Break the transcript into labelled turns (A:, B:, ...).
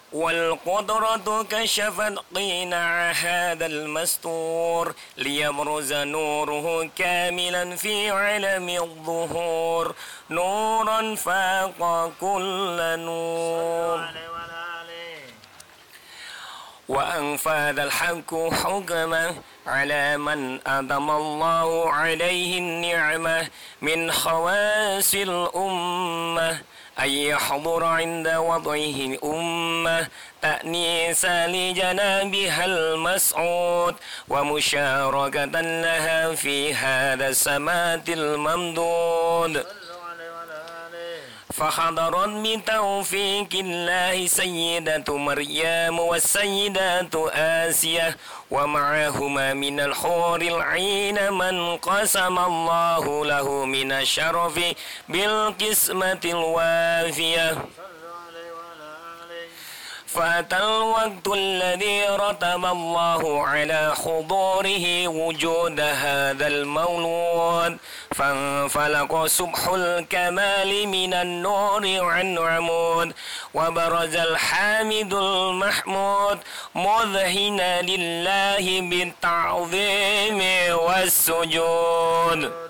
A: والقدرة كشفت قناع هذا المستور ليبرز نوره كاملا في علم الظهور نورا فاق كل نور. وأنفذ الحق حكمه على من أدم الله عليه النعمة من خواص الأمة أن يحضر عند وضعه الأمة تأنيسا لجنابها المسعود ومشاركة لها في هذا السمات الممدود. فحضرت بتوفيق الله سيدة مريم والسيدة آسية ومعهما من الحور العين من قسم الله له من الشرف بالقسمة الوافية. فأتى الوقت الذي رتب الله على حضوره وجود هذا المولود فانفلق سبح الكمال من النور عن عمود وبرز الحامد المحمود مذهنا لله بالتعظيم والسجود.